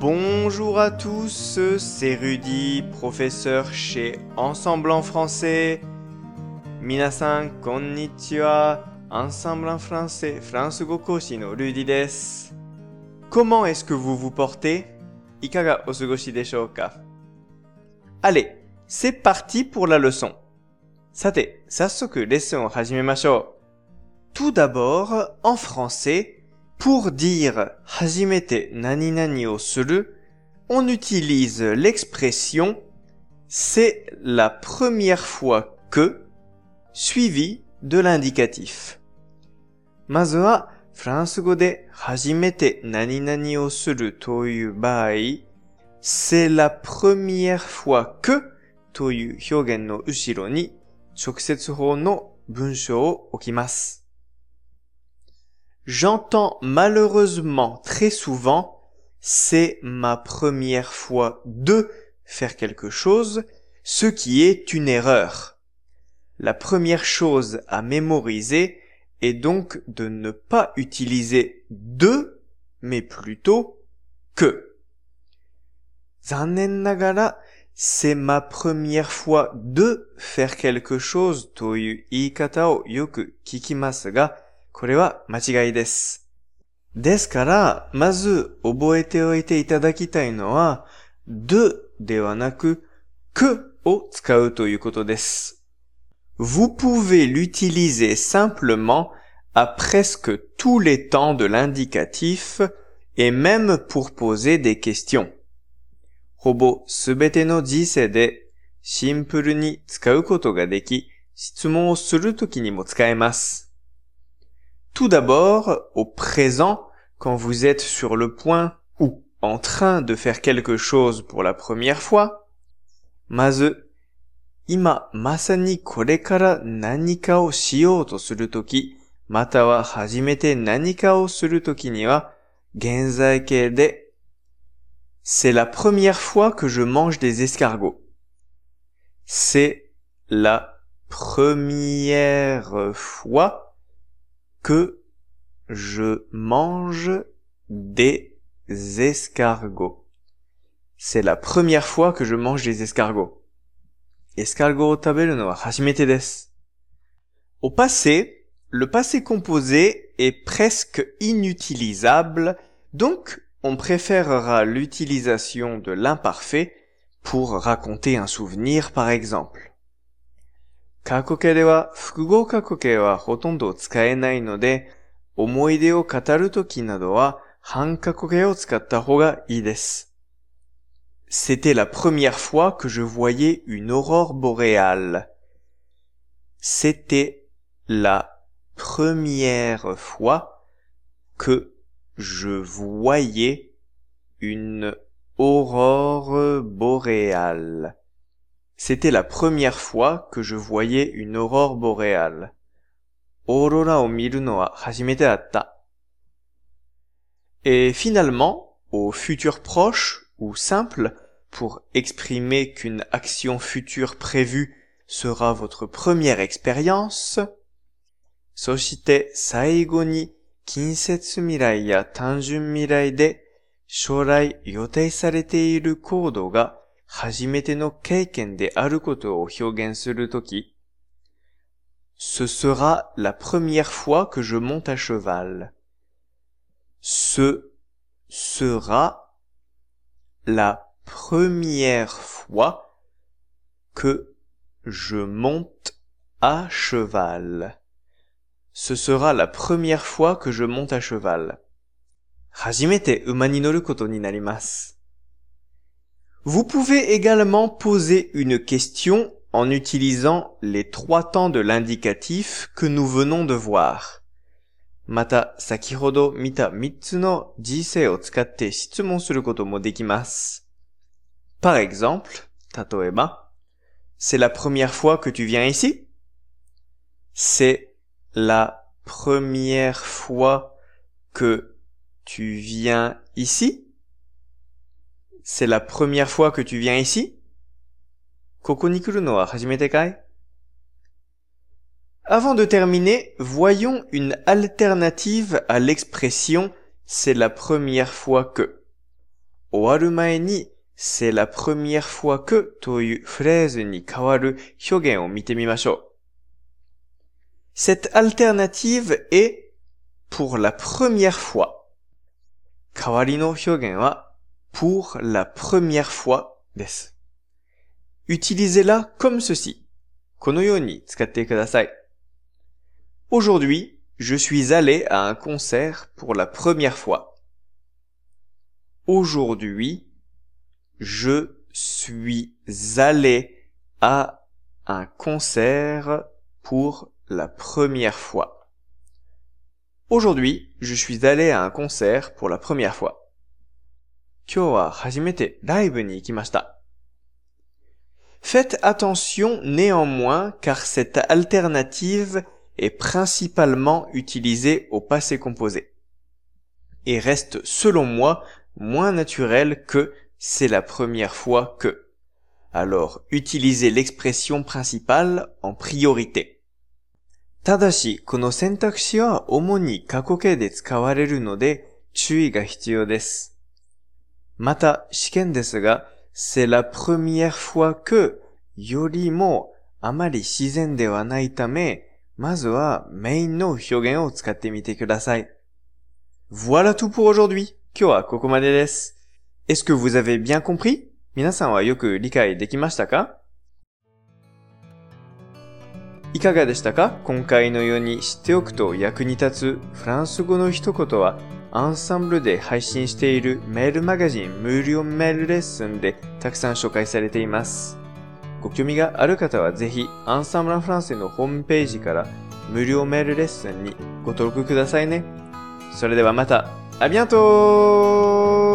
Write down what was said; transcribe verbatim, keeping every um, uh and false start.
Bonjour à tous, c'est Rudy, professeur chez Ensemble en français. Minasan, konnichiwa, Ensemble en français, France go koshi no Rudy desu. Comment est-ce que vous vous portez? Ikaga osugoshi deshou ka? Allez, c'est parti pour la leçon. Sate, sassoku lesson o hajimemashou. Tout d'abord, en français, pour dire « hajimete nani nani o suru », on utilise l'expression « c'est la première fois que » suivi de l'indicatif. Mazu wa, Fransugo de « hajimete nani nani o suru » toyu bai, « c'est la première fois que » toyu hyogen no ushiro ni chokusetsu hou no bunshō o okimasu. J'entends malheureusement très souvent « c'est ma première fois de faire quelque chose », ce qui est une erreur. La première chose à mémoriser est donc de ne pas utiliser « de », mais plutôt « que ». Zannen nagara, c'est ma première fois de faire quelque chose toいう言い方をよく聞きますが、これは間違いです。ですから、まず覚えておいていただきたいのは、de ではなく、que を使うということです。Vous pouvez l'utiliser simplement à presque tous les temps de l'indicatif et même pour poser des questions. ほぼすべての時世でシンプルに使うことができ、質問をするときにも使えます。Tout d'abord, au présent, quand vous êtes sur le point ou en train de faire quelque chose pour la première fois, まず、今まさにこれから何かをしようとするとき、または初めて何かをするときには、現在形で、c'est la première fois que je mange des escargots. C'est la première fois que je mange des escargots. C'est la première fois que je mange des escargots. Escargot o taberu no wa hajimete desu. Au passé, le passé composé est presque inutilisable, donc on préférera l'utilisation de l'imparfait pour raconter un souvenir par exemple. Kakoke de wa fukugo kakoke wa hotondo tsukaenai no de, omoide o kataru toki nado wa hankakoke o tsukatta hou ga ii desu. C'était la première fois que je voyais une aurore boréale. C'était la première fois que je voyais une aurore boréale. C'était la première fois que je voyais une aurore boréale. Aurora o miru no wa hajimete datta. Et finalement, au futur proche ou simple, pour exprimer qu'une action future prévue sera votre première expérience, そして最後に近接未来や単純未来で将来予定されている行動が初めての経験であることを表現するとき、ce sera la première fois que je monte à cheval. Ce sera la première fois que je monte à cheval. Ce sera la première fois que je monte à cheval. 初めて馬に乗ることになります。Vous pouvez également poser une question en utilisant les trois temps de l'indicatif que nous venons de voir. また、先ほど見たみっつの時世を使って質問することもできます。Par exemple, 例えば、c'est la première fois que tu viens ici? C'est la première fois que tu viens ici? C'est la première fois que tu viens ici? ここに来るのは初めてかい? Avant de terminer, voyons une alternative à l'expression « c'est la première fois que ». 終わる前に、c'est la première fois que というフレーズに変わる表現を見てみましょう。Cette alternative est pour la première fois. 代わりの表現は pour la première fois です。Utilisez-la comme ceci. このように使ってください。Aujourd'hui, je suis allé à un concert pour la première fois. Aujourd'hui, je suis allé à un concert pour la première fois. Aujourd'hui, je suis allé à un concert pour la première fois. 今日は初めてライブに行きました。Faites attention néanmoins car cette alternative est principalement utilisée au passé composé et reste selon moi moins naturelle que c'est la première fois que. Alors, utilisez l'expression principale en priorité. ただし、この選択肢は主に過去形で使われるので注意が必要です。また、試験ですが、c'est la première fois que よりもあまり自然ではないため、まずはメインの表現を使ってみてください。Voilà tout pour aujourd'hui. 今日はここまでです。Est-ce que vous avez bien compris? 皆さんはよく理解できましたか？いかがでしたか？今回のように知っておくと役に立つフランス語の一言はアンサンブルで配信しているメールマガジン無料メールレッスンでたくさん紹介されています。ご興味がある方はぜひアンサンブルフランスのホームページから無料メールレッスンにご登録くださいね。それではまた、à bientôt!